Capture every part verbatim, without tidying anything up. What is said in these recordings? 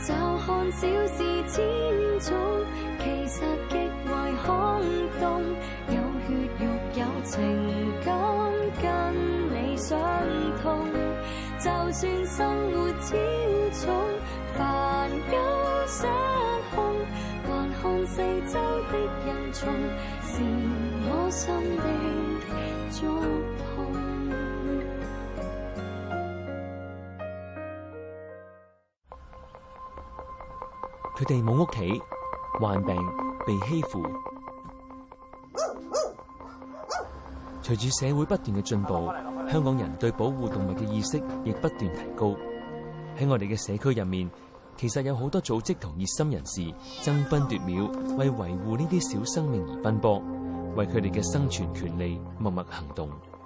就看小事千種，其實極為空洞。有血肉有情感，跟你相通。就算生活超重，煩憂失控，還看四周的人叢，是我心的觸碰。 佢哋冇屋企，患病，被欺負。隨住社會不斷嘅進步，香港人對保護動物嘅意識亦不斷提高。喺我哋嘅社區入面，其實有好多組織同熱心人士爭分奪秒，為維護呢啲小生命而奔波，為佢哋嘅生存權利默默行動。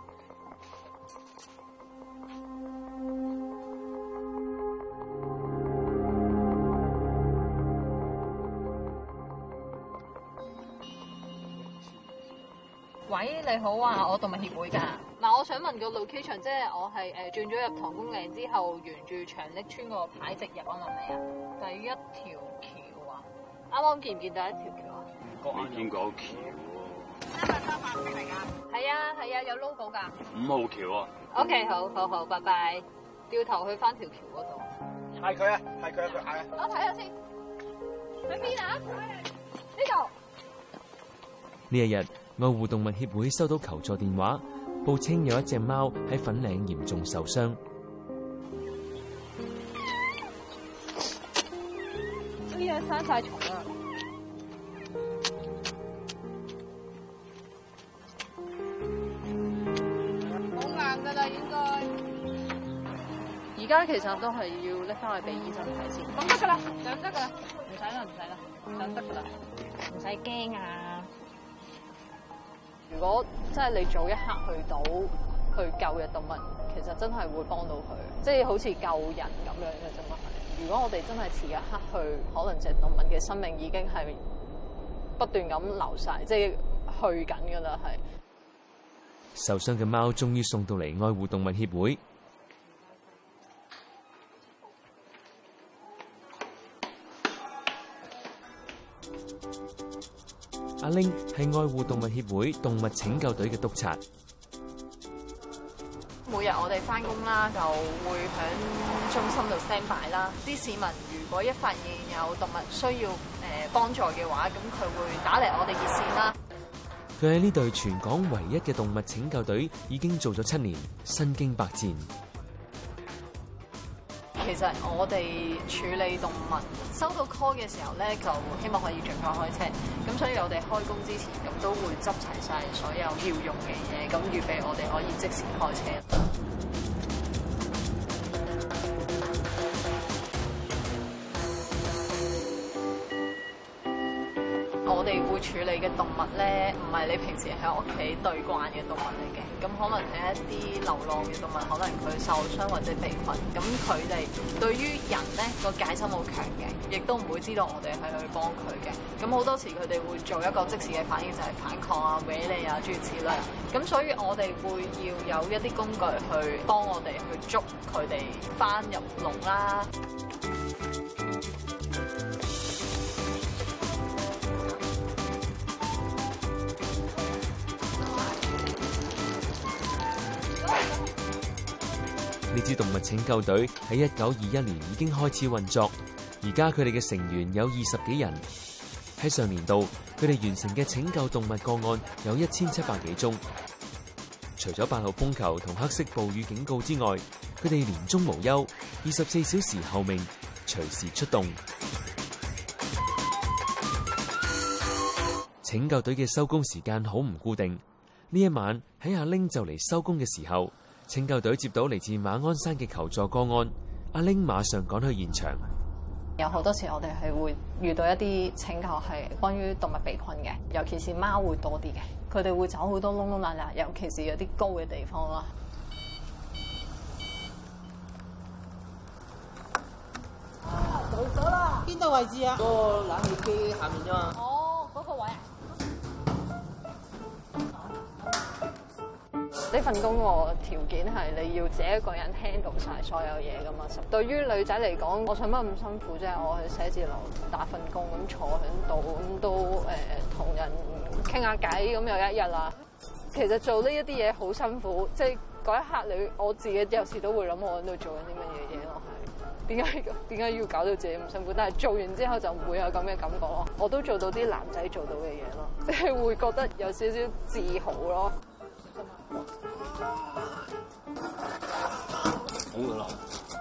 喂，你好啊，我動物協會㗎。嗱，我想問個 location， 即係我係誒轉咗入唐公嶺之後，沿住長瀝村個牌直入啊，係咪啊？第一條橋啊，啱啱見唔見到一條橋啊？ 未見過橋喎。 係咪三八式嚟㗎？係啊係啊，有 logo 㗎。 五號橋啊。 OK， 好好好，拜拜。掉頭去翻條橋嗰度。 係佢啊，係佢啊，佢嗌啊。 我睇下先。喺邊啊？呢度。 呢一日，愛護動物協會收到求助電話，報稱有一隻貓喺粉嶺嚴重受傷。 呢嘢生晒蟲啦！好硬噶啦，應該。而家其實都係要拎翻去俾醫生睇先。咁得噶啦，就咁得噶啦，唔使啦，唔使啦，就咁得噶啦，唔使驚啊！如果真係你早一刻去到去救嘅動物，其實真係會幫到佢，即係好似救人咁樣嘅啫嘛。如果我哋真係遲一刻去，可能隻動物嘅生命已經係不斷咁流晒，即係去緊噶啦，係。 受傷嘅貓終於送到嚟愛護動物協會。阿玲係愛護動物協會動物拯救隊嘅督察。 每日我哋翻工啦，就會喺中心度 stand by 啦。啲市民如果一發現有動物需要誒幫助嘅話，咁佢會打嚟我哋熱線啦。 佢喺呢隊全港唯一嘅動物拯救隊已經做咗七年，身經百戰。 其實我哋處理動物收到 call 嘅時候咧，就希望可以盡快開車。咁所以我哋開工之前咁都會執齊晒所有要用嘅嘢，咁預備我哋可以即時開車。我哋會處理嘅動物咧，唔係你平時喺屋企對慣嘅動物嚟嘅，咁可能係一啲流浪嘅動物，可能佢受傷或者被困，咁佢哋對於人咧個戒心好強嘅，亦都唔會知道我哋係去幫佢嘅，咁好多時佢哋會做一個即時嘅反應，就係反抗啊、搲你啊諸如此類，咁所以我哋會要有一啲工具去幫我哋去捉佢哋翻入籠啦。 呢支動物拯救隊喺一九二一年已經開始運作，而家佢哋嘅成員有二十幾人。喺上年度，佢哋完成嘅拯救動物個案有一千七百幾宗。除咗八號風球同黑色暴雨警告之外，佢哋年終無休，二十四小時候命，隨時出動。拯救隊嘅收工時間好唔固定。呢一晚喺阿玲就嚟收工嘅時候，拯救隊接到嚟自馬鞍山嘅求助個案，阿玲馬上趕去現場。 有好多時我哋係會遇到一啲拯救係關於動物被困嘅，尤其是貓會多啲嘅，佢哋會走好多窿窿罅罅，尤其是有啲高嘅地方啦。 啊，到咗啦！邊度位置啊？嗰個冷氣機下面啫嘛。 哦，嗰個位啊。 呢份工個條件係你要自己一個人 handle 晒所有嘢噶嘛。對於女仔嚟講，我想乜咁辛苦啫？我去寫字樓打份工，咁坐喺度咁都誒同、呃、人傾下偈，咁又一日啦。其實做呢一啲嘢好辛苦，即係嗰一刻你我自己有時都會諗我喺度做緊啲乜嘢嘢咯。係點解點解要搞到自己咁辛苦？但係做完之後就唔會有咁嘅感覺咯。我都做到啲男仔做到嘅嘢咯，即係會覺得有少少自豪咯。 好噶啦！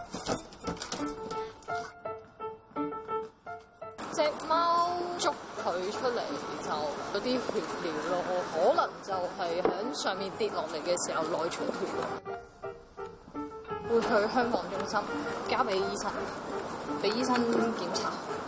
隻貓捉佢出嚟就有啲血尿咯，可能就係喺上面跌落嚟嘅時候內出血咯。會去香港中心交俾醫生，俾醫生檢查。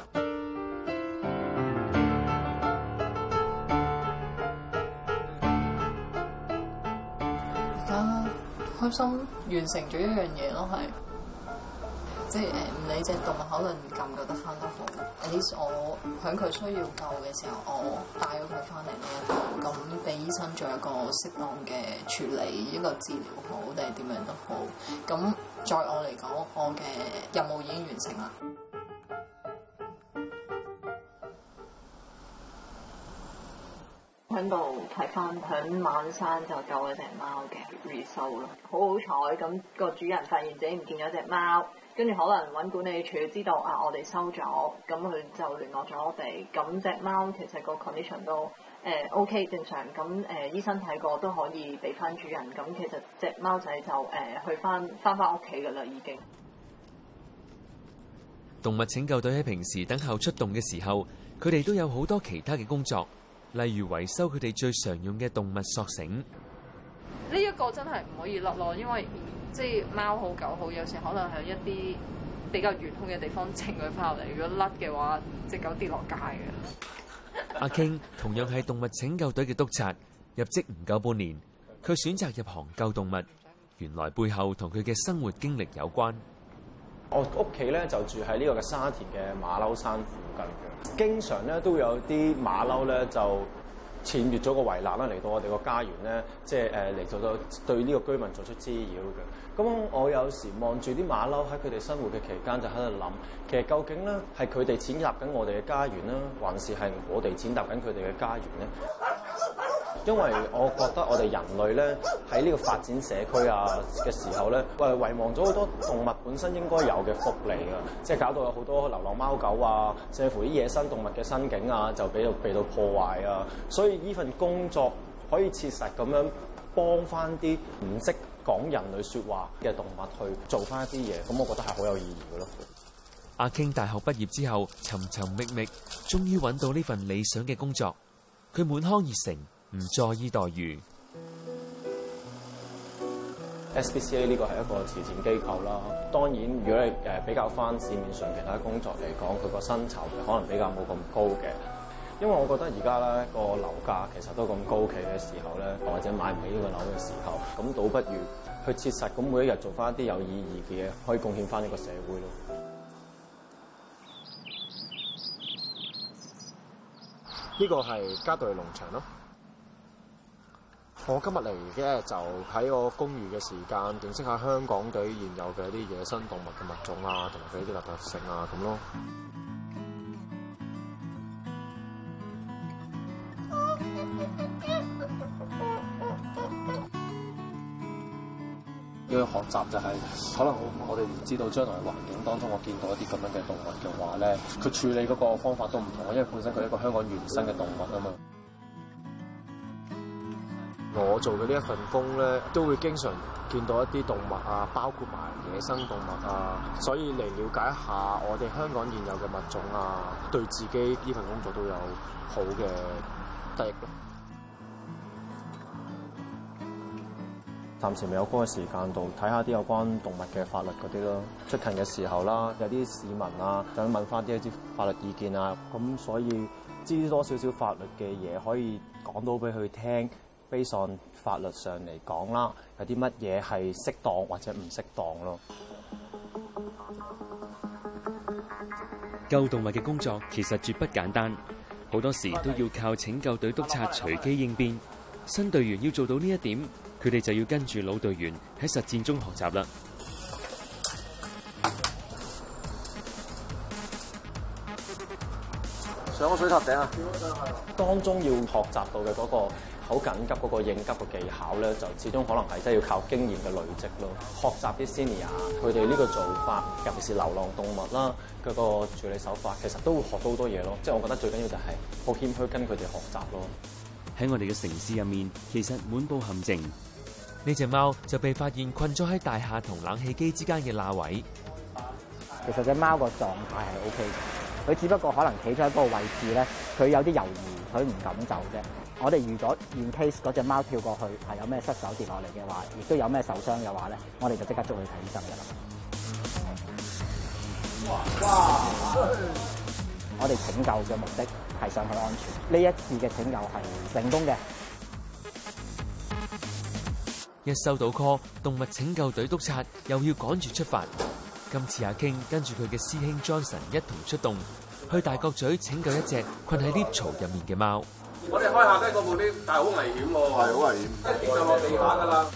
而家開心完成咗一樣嘢咯，係即係誒唔理隻動物可能救唔救得翻都好，at least我喺佢需要救嘅時候，我帶咗佢翻嚟呢一度，咁俾醫生做一個適當嘅處理，一個治療好定係點樣都好。咁在我嚟講，我嘅任務已經完成啦。喺度睇翻響馬山就救咗隻貓嘅 result 咯，好好彩咁個主人發現自己唔見咗隻貓，跟住可能揾管理處知道啊，我哋收咗，咁佢就聯絡咗我哋。咁隻貓其實個 condition 都誒、呃、OK 正常，咁誒、呃、醫生睇過都可以俾翻主人。咁其實隻貓仔就誒、呃、去翻翻翻屋企㗎啦，已經。 動物拯救隊喺平時等候出動嘅時候，佢哋都有好多其他嘅工作。例如維修佢哋最常用嘅動物索繩， 呢一個真係唔可以甩咯，因為即係貓好狗好，有時可能喺一啲比較遠空嘅地方請佢翻落嚟，如果甩嘅話，隻狗跌落街嘅。 阿 King 同樣係動物拯救隊嘅督察，入職唔夠半年，佢選擇入行救動物，原來背後同佢嘅生活經歷有關。 我屋企咧就住喺呢個嘅沙田嘅馬騮山附近嘅，經常咧都會有啲馬騮咧就僭越咗個圍欄啦，嚟到我哋個家園咧，即係誒嚟做到對呢個居民作出滋擾嘅。咁我有時望住啲馬騮喺佢哋生活嘅期間，就喺度諗，其實究竟咧係佢哋踐踏緊我哋嘅家園啦，還是係我哋踐踏緊佢哋嘅家園咧？因為我覺得我哋人類咧喺呢個發展社區啊嘅時候咧，誒遺忘咗好多動物本身應該有嘅福利啊，即係搞到有好多流浪貓狗啊，甚至乎啲野生動物嘅生境啊，就俾到被到破壞啊。所以呢份工作可以切實咁樣幫翻啲唔識講人類説話嘅動物去做翻一啲嘢，咁我覺得係好有意義嘅咯。 阿 King 大學畢業之後，尋尋覓覓，終於揾到呢份理想嘅工作，佢滿腔熱誠。唔在意待遇。 S P C A 呢個係一個慈善機構啦。當然，如果你誒比較翻市面上其他工作嚟講，佢個薪酬可能比較冇咁高嘅。因為我覺得而家咧個樓價其實都咁高企嘅時候咧，或者買唔起呢個樓嘅時候，咁倒不如去切實咁每一日做翻一啲有意義嘅嘢，可以貢獻翻呢個社會咯。 呢個係嘉道理農場咯。我今日嚟嘅就喺個公寓嘅時間，認識下香港地現有嘅一啲野生動物嘅物種啊，同埋佢啲特特性啊咁咯。要學習就係、是、可能我哋唔知道將來環境當中，我見到一啲咁樣嘅動物嘅話咧，佢處理嗰個方法都唔同，因為本身佢係一個香港原生嘅動物啊嘛。我做嘅呢一份工咧，都會經常見到一啲動物啊，包括埋野生動物啊，所以嚟了解一下我哋香港現有嘅物種啊，對自己呢份工作都有好嘅得益咯。 暫時未有嗰個時間度睇下啲有關動物嘅法律嗰啲咯。出勤嘅時候啦，有啲市民啊，想問翻啲一啲法律意見啊，咁所以知多少少法律嘅嘢可以講到俾佢聽。based on法律上嚟講啦，有啲乜嘢係適當或者唔適當咯。 救動物嘅工作其實絕不簡單，好多時都要靠拯救隊督察隨機應變。新隊員要做到呢一點，佢佢哋就要跟住老隊員喺實戰中學習啦。 上個水塔頂啊！ 當中要學習到嘅嗰個好緊急嗰個應急嘅技巧咧，就始終可能係真係要靠經驗嘅累積咯。學習啲 senior 佢哋呢個做法，尤其是流浪動物啦，佢個處理手法，其實都會學到好多嘢咯。即係我覺得最緊要就係好謙虛跟佢哋學習咯。 喺我哋嘅城市入面，其實滿佈陷阱。呢隻貓就被發現困咗喺大廈同冷氣機之間嘅罅位。 其實隻貓個狀態係 O K 嘅，佢只不過可能企咗喺嗰個位置咧，佢有啲猶豫，佢唔敢走啫。我哋預咗 in case 嗰隻貓跳過去係有咩失手跌落嚟嘅話，亦都有咩受傷嘅話咧，我哋就即刻捉佢睇醫生㗎啦。哇！我哋拯救嘅目的係想佢安全，呢一次嘅拯救係成功嘅。 一收到 call， 動物拯救隊督察又要趕住出發。今次阿 King 跟住佢嘅師兄 Johnson 一同出動，去大角咀拯救一隻困喺 lift 槽入面嘅貓。 我哋開下低嗰部 lift，但係好危險喎，係好危險，一跌就落地下㗎啦。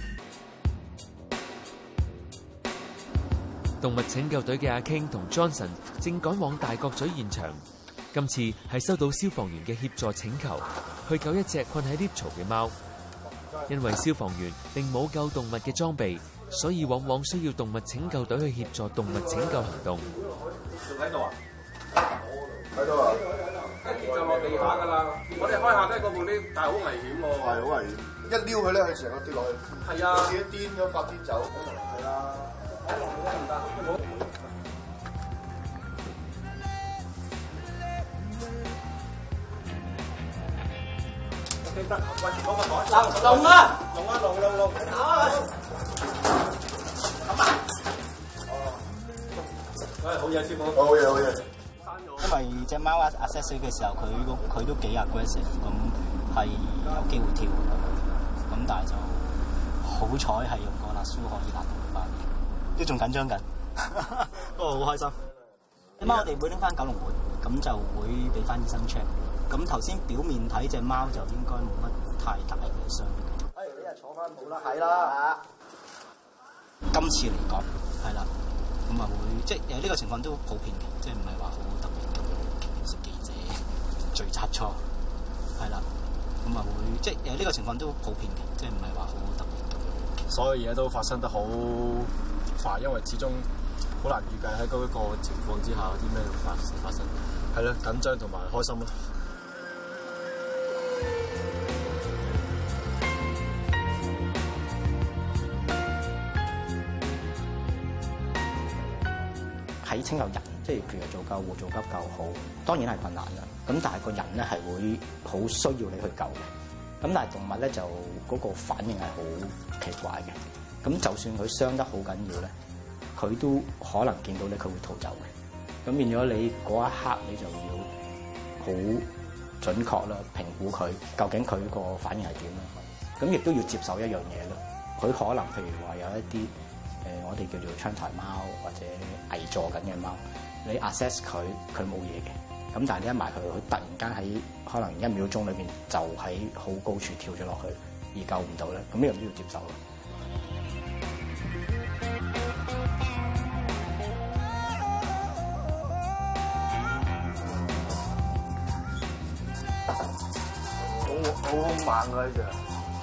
動物拯救隊嘅阿 King 同 Johnson 正趕往大角咀現場。今次係收到消防員嘅協助請求，去救一隻困喺 lift 槽嘅貓。因為消防員並冇救動物嘅裝備，所以往往需要動物拯救隊去協助動物拯救行動。 仲喺度啊？喺度啊！一跌就落地下㗎啦！我哋開下低嗰部 lift，但係好危險喎。係好危險，一撩佢咧，佢成個跌落去。係啊！自己癲咁發癲走。係啊！唔得，得，喂，嗰個台龍龍啊，龍啊龍龍龍，咁啊，哦，喂，好嘢師傅，好嘢好嘢。 因為隻貓啊 assess 死嘅時候，佢佢都幾 aggressive，咁係有機會跳，咁但係就好彩係用個辣蘇可以辣到佢翻，都仲緊張緊，不過好開心。隻貓我哋會拎翻九龍門，咁就會俾翻醫生 check。咁頭先表面睇隻貓就應該冇乜太大嘅傷。哎，你又坐翻好啦，係啦。今次嚟講係啦，咁啊會即係誒呢個情況都普遍嘅，即係唔係話好特別咁食記者聚集錯係啦，咁啊會即係誒呢個情況都普遍嘅，即係唔係話好特別咁。 所有嘢都發生得好快，因為始終好難預計喺嗰個情況之下有啲咩會發發生。係咯，緊張同埋開心咯。 喺拯救人，即係譬如做救護、做急救好，當然係困難啦。咁但係個人咧係會好需要你去救嘅。咁但係動物咧就嗰個反應係好奇怪嘅。咁就算佢傷得好緊要咧，佢都可能見到你，佢會逃走嘅。咁變咗你嗰一刻你就要好準確啦，評估佢究竟佢個反應係點啦。咁亦都要接受一樣嘢咯。佢可能譬如話有一啲。誒、呃，我哋叫做窗台貓或者危坐緊嘅貓，你 assess 佢，佢冇嘢嘅。咁但係你一埋佢，佢突然間喺可能一秒鐘裏邊就喺好高處跳咗落去，而救唔到咧，咁呢樣都要接受咯。 好好猛啊！呢隻。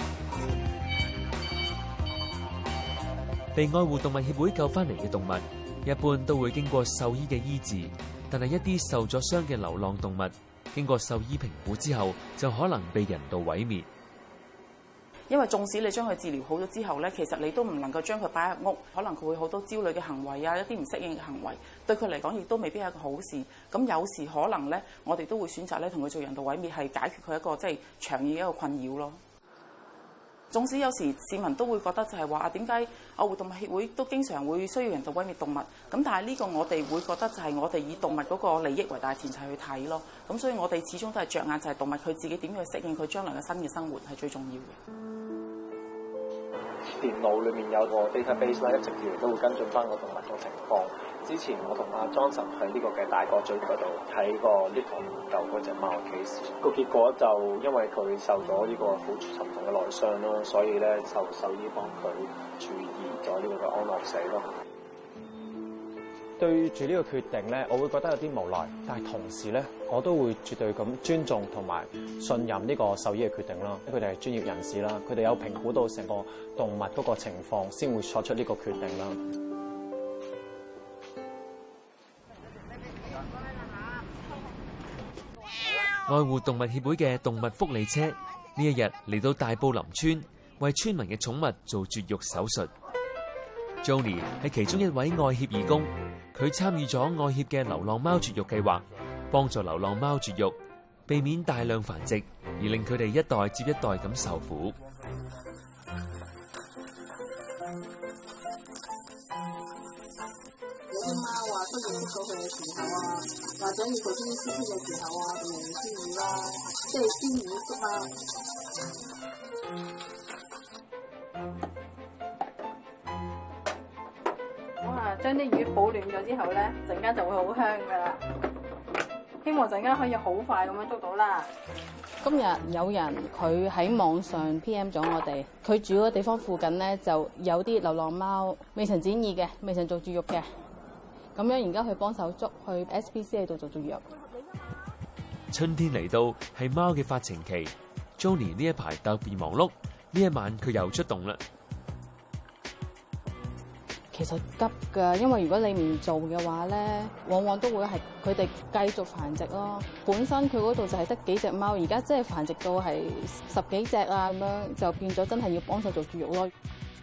被愛護動物協會救翻嚟嘅動物，一般都會經過獸醫嘅醫治，但係一啲受咗傷嘅流浪動物，經過獸醫評估之後，就可能被人道毀滅。 因為縱使你將佢治療好咗之後咧，其實你都唔能夠將佢擺入屋，可能佢會好多焦慮嘅行為啊，一啲唔適應嘅行為，對佢嚟講亦都未必係一個好事。咁有時可能咧，我哋都會選擇咧同佢做人道毀滅，係解決佢一個即係長遠嘅一個困擾咯。縱使有時市民都會覺得就係話啊，點解愛護動物協會都經常會需要人道毀滅動物？咁但係呢個我哋會覺得就係我哋以動物嗰個利益為大前提去睇咯。咁所以我哋始終都係着眼就係動物佢自己點樣去適應佢將來嘅新嘅生活係最重要嘅。電腦裏面有個 database 啦，一直以嚟都會跟進翻個動物嘅情況。 之前我同阿莊臣喺呢個嘅大角咀嗰度睇過呢堂救嗰隻貓嘅 case，個結果就因為佢受咗呢個好沉重嘅內傷咯，所以咧就獸醫幫佢注意咗呢個嘅安樂死咯。對住呢個決定咧，我會覺得有啲無奈，但係同時咧，我都會絕對咁尊重同埋信任呢個獸醫嘅決定啦。佢哋係專業人士啦，佢哋有評估到成個動物嗰個情況，先會作出呢個決定啦。 愛護動物協會嘅動物福利車呢一日嚟到大埔林村，為村民嘅寵物做絕育手術。Johnny 係其中一位愛協義工，佢參與咗愛協嘅流浪貓絕育計劃，幫助流浪貓絕育，避免大量繁殖，而令佢哋一代接一代咁受苦。 有啲貓啊，出現咗佢嘅時候啊，或者要做啲 C P 嘅時候啊，就用鮮魚啦，即係鮮魚粥啊。我啊將啲魚保暖咗之後咧，陣間就會好香噶啦。希望陣間可以好快咁樣捉到啦。今日有人佢喺網上 P M 咗我哋，佢住嗰個地方附近咧就有啲流浪貓未曾展翼嘅，未曾做絕育嘅。咁樣而家去幫手捉去 S P C A 度做絕育。 春天嚟到係貓嘅發情期 ，Johnny 呢一排特別忙碌，呢一晚佢又出動啦。 其實急㗎，因為如果你唔做嘅話咧，往往都會係佢哋繼續繁殖咯。本身佢嗰度就係得幾隻貓，而家即係繁殖到係十幾隻啊，咁樣就變咗真係要幫手做絕育咯。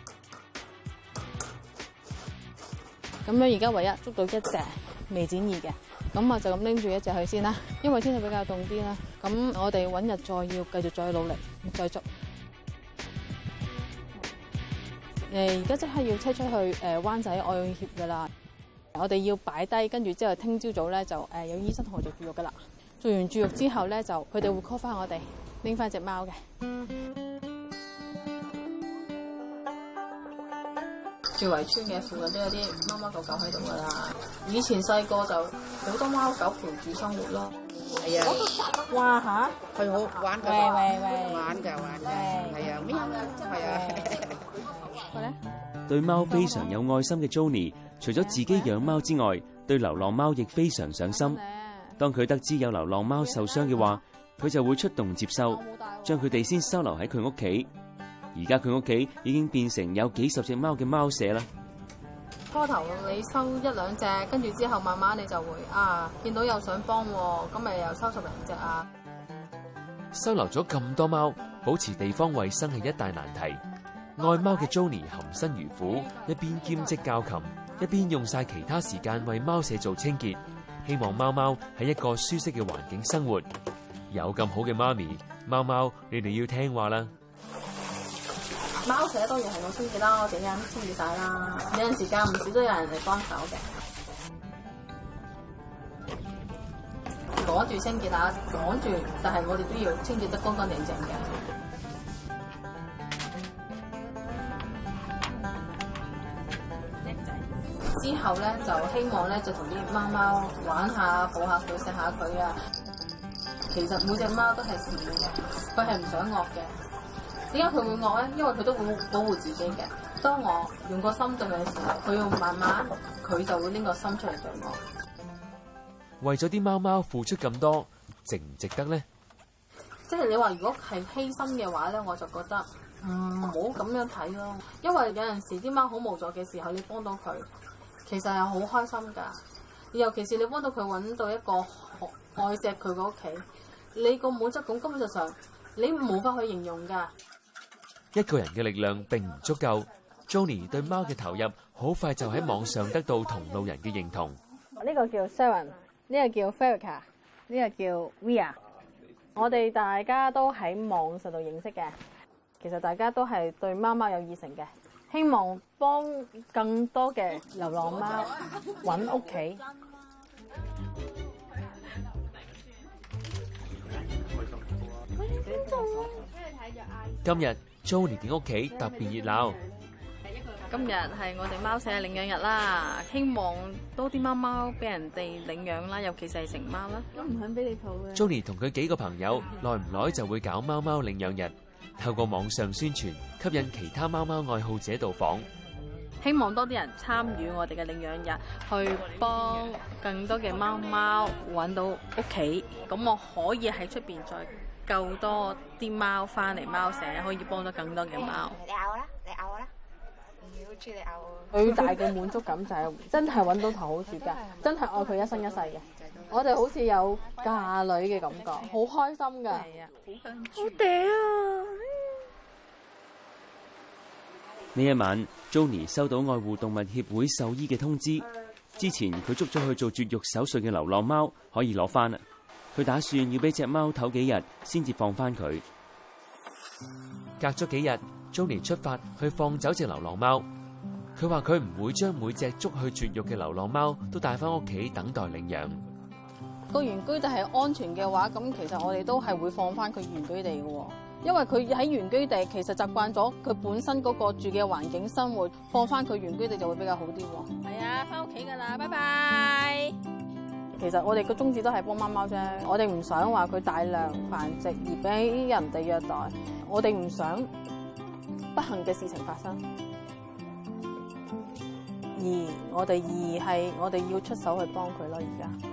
咁樣而家唯一捉到一隻未展翼嘅，咁我就咁拎住一隻去先啦。因為天氣比較凍啲啦，咁我哋揾日再要繼續再努力再捉。誒而家即刻要車出去誒、呃、灣仔愛協㗎啦，我哋要擺低，跟住之後聽朝早咧就誒、呃、有醫生同我做絕育㗎啦。做完絕育之後咧，就佢哋會 call 翻我哋拎翻隻貓嘅。住圍村嘅附近都有啲貓貓狗狗喺度㗎啦。以前細個就好多貓狗陪住生活咯。 係啊！ 哇嚇！ 佢好玩㗎， 喂喂喂， 玩㗎玩㗎，係啊，咩啊？係啊。 對貓非常有愛心嘅 Johnny， 除咗自己養貓之外，對流浪貓亦非常上心。當佢得知有流浪貓受傷嘅話，佢就會出動接收，將佢哋先收留喺佢屋企。而家佢屋企已經變成有幾十隻貓嘅貓舍啦。 初頭你收一兩隻，跟住之後慢慢你就會啊，見到有想幫喎，咁咪又收十零隻啊。 收留咗咁多貓，保持地方衛生係一大難題。愛貓嘅 Johnny 含辛茹苦，一邊兼職教琴，一邊用晒其他時間為貓舍做清潔，希望貓貓喺一個舒適嘅環境生活。有咁好嘅媽咪，貓貓你哋要聽話啦。 貓舍當然係我清潔啦，我整間清潔晒啦。有陣時間唔少都有人嚟幫手嘅，趕住清潔啊，趕住，但係我哋都要清潔得乾乾淨淨嘅。之後咧就希望咧就同啲貓貓玩下、抱下佢、錫下佢啊。其實每隻貓都係善嘅，佢係唔想惡嘅。點解佢會惡咧？因為佢都會保護自己嘅。當我用個心對佢嘅時候，佢要慢慢佢就會拎個心出嚟對我。 為咗啲貓貓付出咁多，值唔值得咧？ 即係你話如果係犧牲嘅話咧，我就覺得唔好咁樣睇咯。因為有陣時啲貓好無助嘅時候，你幫到佢。其實係好開心㗎，尤其是你幫到佢揾到一個愛錫佢嘅屋企，你個滿足感根本就上你無法去形容㗎。 一個人嘅力量並唔足夠 ，Johnny 對貓嘅投入好快就喺網上得到同路人嘅認同。 呢個叫 Sharon， 呢個叫 Ferica， 呢個叫 Via。我哋大家都喺網上度認識嘅，其實大家都係對貓貓有熱誠嘅。希望幫更多嘅流浪貓揾屋企。 今日 Johnny 嘅屋企特別熱鬧， 今日係我哋貓舍嘅領養日啦，希望多啲貓貓俾人哋領養啦，尤其是係成貓啦。 都唔肯俾你抱嘅。 Johnny 同佢幾個朋友耐唔耐就會搞貓貓領養日，透過網上宣傳，吸引其他貓貓愛好者到訪。 希望多啲人參與我哋嘅領養日，去幫更多嘅貓貓揾到屋企。咁我可以喺出邊再救多啲貓翻嚟貓舍，可以幫到更多嘅貓。 你咬我啦，你咬我啦，好中意你咬我。 最大嘅滿足感就係真係揾到頭好主家，真係愛佢一生一世嘅。我哋好似有嫁女嘅感覺，好開心㗎。 係啊，好香， 好嗲啊！ 呢一晚 ，Johnny 收到愛護動物協會獸醫嘅通知，之前佢捉咗去做絕育手術嘅流浪貓可以攞翻啦。佢打算要俾隻貓唞幾日先至放翻佢。 隔咗幾日 ，Johnny 出發去放走隻流浪貓。佢話佢唔會將每隻捉去絕育嘅流浪貓都帶翻屋企等待領養。 個原居地係安全嘅話，咁其實我哋都係會放翻佢原居地嘅。因為佢喺原居地其實習慣咗佢本身嗰個住嘅環境生活，放翻佢原居地就會比較好啲喎。係啊，翻屋企㗎啦，拜拜。其實我哋個宗旨都係幫貓貓啫，我哋唔想話佢大量繁殖而俾人哋虐待，我哋唔想不幸嘅事情發生。而我哋而係我哋要出手去幫佢咯，而家。